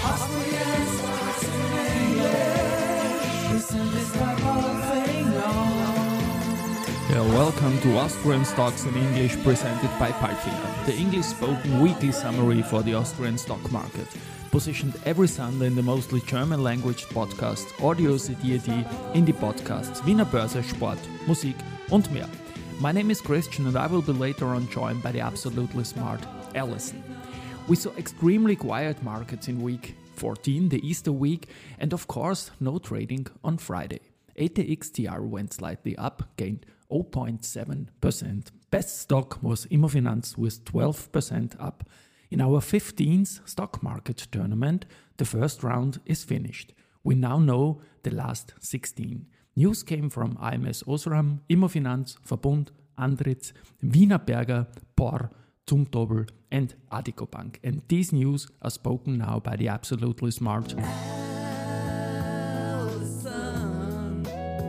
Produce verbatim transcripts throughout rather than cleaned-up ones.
Austrian stocks in English. Listen, this the whole thing on. Yeah, welcome to Austrian Stocks in English, presented by Palfinger, the English-spoken weekly summary for the Austrian stock market. Positioned every Sunday in the mostly German-language podcast Audio C D A D in die Podcasts Wiener Börse, Sport, Musik und mehr. My name is Christian and I will be later on joined by the absolutely smart Alison. We saw extremely quiet markets in week fourteen, the Easter week, and of course no trading on Friday. A T X T R went slightly up, gained zero point seven percent. Best stock was Immofinanz with twelve percent up. In our fifteenth stock market tournament, the first round is finished. We now know the last sixteen. News came from A M S Osram, Immofinanz, Verbund, Andritz, Wienerberger, P O R, Zumtobel and Addiko Bank. And these news are spoken now by the absolutely smart Alison.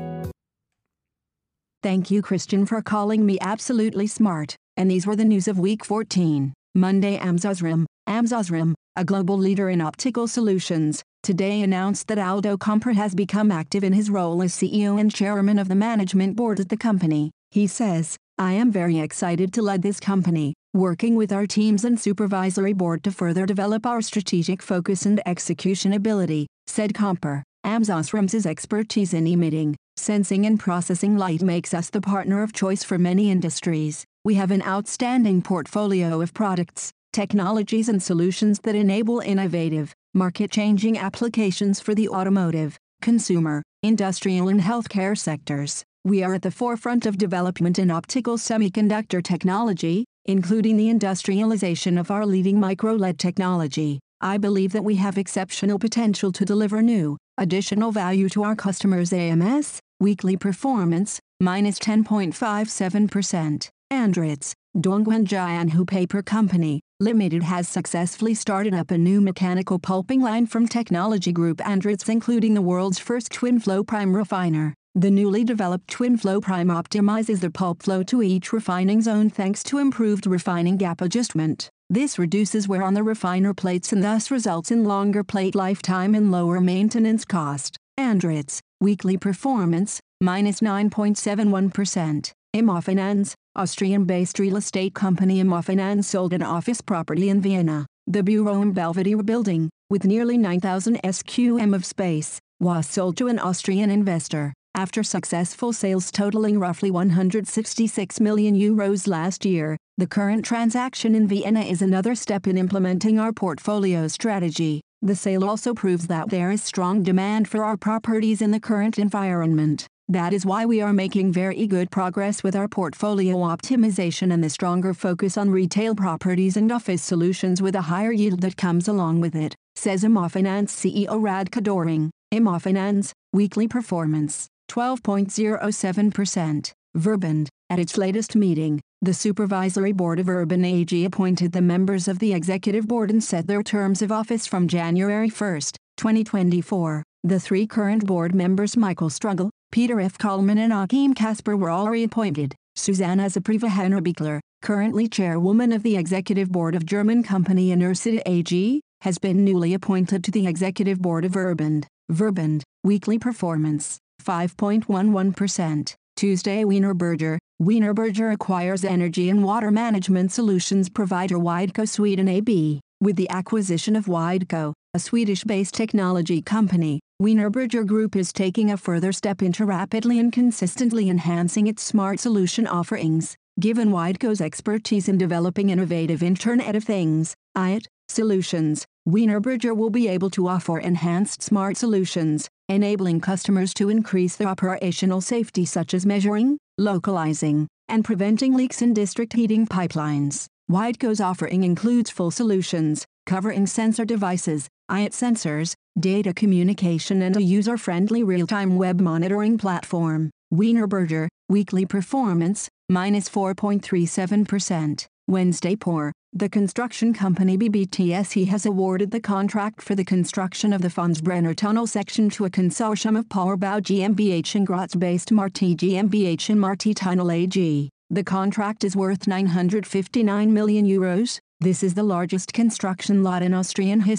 Thank you, Christian, for calling me absolutely smart. And these were the news of week fourteen. Monday, A M S Osram, A M S Osram, a global leader in optical solutions, today announced that Aldo Comper has become active in his role as C E O and chairman of the management board at the company. He says, "I am very excited to lead this company, working with our teams and supervisory board to further develop our strategic focus and execution ability," said Comper. A M S Osram's expertise in emitting, sensing and processing light makes us the partner of choice for many industries. We have an outstanding portfolio of products, technologies and solutions that enable innovative, market-changing applications for the automotive, consumer, industrial and healthcare sectors. We are at the forefront of development in optical semiconductor technology, including the industrialization of our leading micro-L E D technology. I believe that we have exceptional potential to deliver new, additional value to our customers. A M S, weekly performance, minus ten point five seven percent. Andritz, Dongguan Jianhu Paper Company, Limited has successfully started up a new mechanical pulping line from Technology Group Andritz, including the world's first twin-flow prime refiner. The newly developed twin-flow prime optimizes the pulp flow to each refining zone thanks to improved refining gap adjustment. This reduces wear on the refiner plates and thus results in longer plate lifetime and lower maintenance cost. Andritz, weekly performance, minus nine point seven one percent. Immofinanz, Austrian-based real estate company Immofinanz sold an office property in Vienna. The Bureau im Belvedere building, with nearly nine thousand square meters of space, was sold to an Austrian investor, after successful sales totaling roughly one hundred sixty-six million euros last year. The current transaction in Vienna is another step in implementing our portfolio strategy. The sale also proves that there is strong demand for our properties in the current environment. That is why we are making very good progress with our portfolio optimization and the stronger focus on retail properties and office solutions with a higher yield that comes along with it, says Immofinanz C E O Radka Doring. Immofinanz, weekly performance, twelve point zero seven percent. Verbund, at its latest meeting, the Supervisory Board of Verbund A G appointed the members of the Executive Board and set their terms of office from January first, twenty twenty-four. The three current board members Michael Struggle, Peter F. Kallmann and Achim Kasper were all reappointed. Susanna Zapriva Henner-Biegler, currently chairwoman of the Executive Board of German company Inersita A G, has been newly appointed to the Executive Board of Verbund. Verbund, weekly performance, five point one one percent. Tuesday, Wienerberger. Wienerberger acquires energy and water management solutions provider Wideco Sweden A B. With the acquisition of Wideco, a Swedish-based technology company, Wienerberger Group is taking a further step into rapidly and consistently enhancing its smart solution offerings. Given Wideco's expertise in developing innovative Internet of Things (I O T) solutions, Wienerberger will be able to offer enhanced smart solutions, enabling customers to increase their operational safety, such as measuring, localizing, and preventing leaks in district heating pipelines. Wideco's offering includes full solutions, covering sensor devices, I O T sensors, data communication and a user-friendly real-time web monitoring platform. Wienerberger, weekly performance, minus four point three seven percent. Wednesday, P O R, the construction company B B T S E has awarded the contract for the construction of the Fonsbrenner Tunnel section to a consortium of Powerbau GmbH and Graz-based Marti GmbH and Marti Tunnel A G. The contract is worth nine hundred fifty-nine million euros. This is the largest construction lot in Austrian history,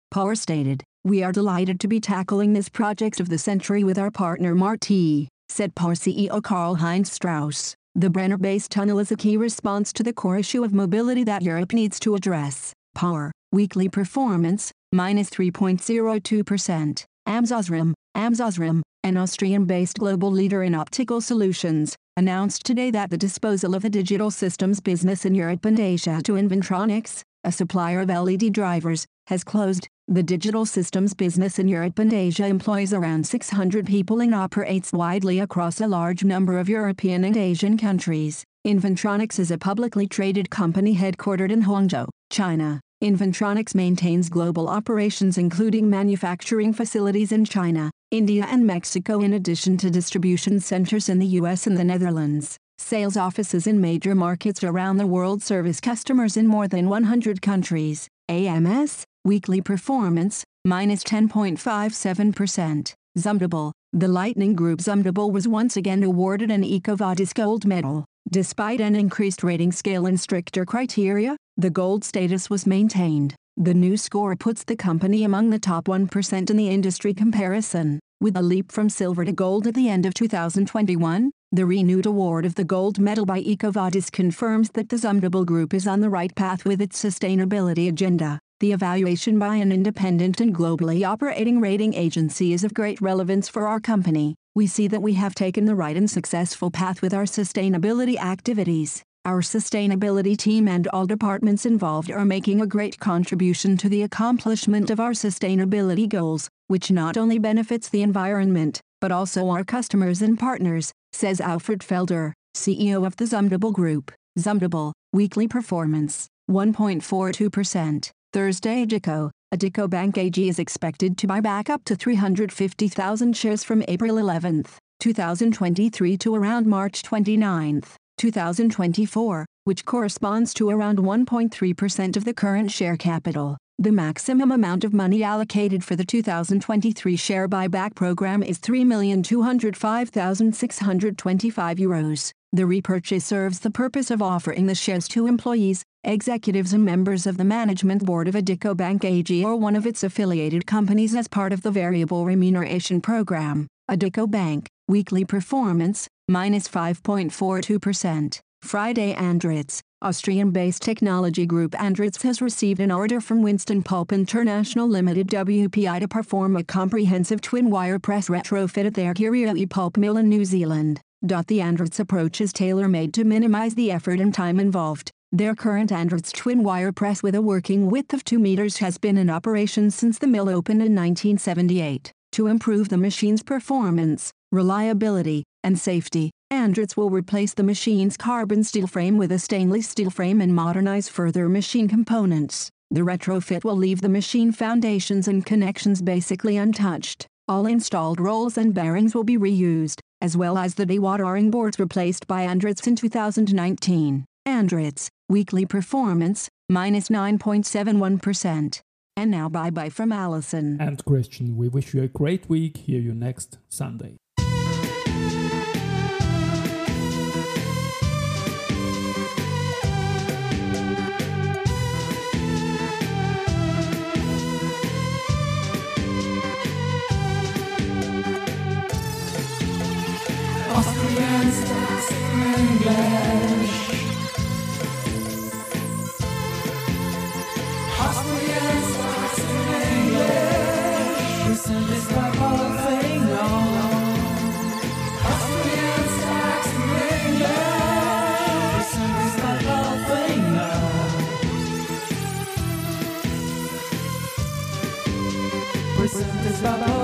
Power stated, "We are delighted to be tackling this project of the century with our partner Marti," said Power C E O Karl-Heinz Strauss. The Brenner-based tunnel is a key response to the core issue of mobility that Europe needs to address. Power, weekly performance, minus three point zero two percent. AmSosRim, AmSosRim, an Austrian-based global leader in optical solutions, announced today that the disposal of the digital systems business in Europe and Asia to Inventronics, a supplier of L E D drivers, has closed. The digital systems business in Europe and Asia employs around six hundred people and operates widely across a large number of European and Asian countries. Inventronics is a publicly traded company headquartered in Hangzhou, China. Inventronics maintains global operations including manufacturing facilities in China, India and Mexico in addition to distribution centers in the U S and the Netherlands. Sales offices in major markets around the world service customers in more than one hundred countries. A M S, weekly performance, minus ten point five seven percent. Zumtobel, the Lightning Group Zumtobel was once again awarded an EcoVadis Gold Medal. Despite an increased rating scale and stricter criteria, the gold status was maintained. The new score puts the company among the top one percent in the industry comparison. With a leap from silver to gold at the end of two thousand twenty-one, the renewed award of the gold medal by EcoVadis confirms that the Zumtobel Group is on the right path with its sustainability agenda. The evaluation by an independent and globally operating rating agency is of great relevance for our company. We see that we have taken the right and successful path with our sustainability activities. Our sustainability team and all departments involved are making a great contribution to the accomplishment of our sustainability goals, which not only benefits the environment, but also our customers and partners, says Alfred Felder, C E O of the Zumtobel Group. Zumtobel, weekly performance, one point four two percent. Thursday Addiko, Addiko Bank A G is expected to buy back up to three hundred fifty thousand shares from April eleventh, two thousand twenty-three to around March twenty-ninth, two thousand twenty-four, which corresponds to around one point three percent of the current share capital. The maximum amount of money allocated for the two thousand twenty-three share buyback program is three million two hundred five thousand six hundred twenty-five euros. The repurchase serves the purpose of offering the shares to employees, executives and members of the management board of Addiko Bank A G or one of its affiliated companies as part of the variable remuneration program. Addiko Bank, weekly performance, minus five point four two percent. Friday Andritz, Austrian-based technology group Andritz has received an order from Winston Pulp International Limited W P I to perform a comprehensive twin-wire press retrofit at their Kirrialli pulp mill in New Zealand. The Andritz approach is tailor-made to minimize the effort and time involved. Their current Andritz twin-wire press with a working width of two meters has been in operation since the mill opened in nineteen seventy-eight. To improve the machine's performance, reliability, and safety, Andritz will replace the machine's carbon steel frame with a stainless steel frame and modernize further machine components. The retrofit will leave the machine foundations and connections basically untouched. All installed rolls and bearings will be reused, as well as the dewatering boards replaced by Andritz in two thousand nineteen. Andritz, weekly performance, minus nine point seven one percent. And now bye-bye from Alison and Christian. We wish you a great week. Hear you next Sunday. Austrian stocks in English. Austrian stocks in English. Presented by Paul Fignon. Austrian stocks in English. Presented by Paul Fignon. Presented by Paul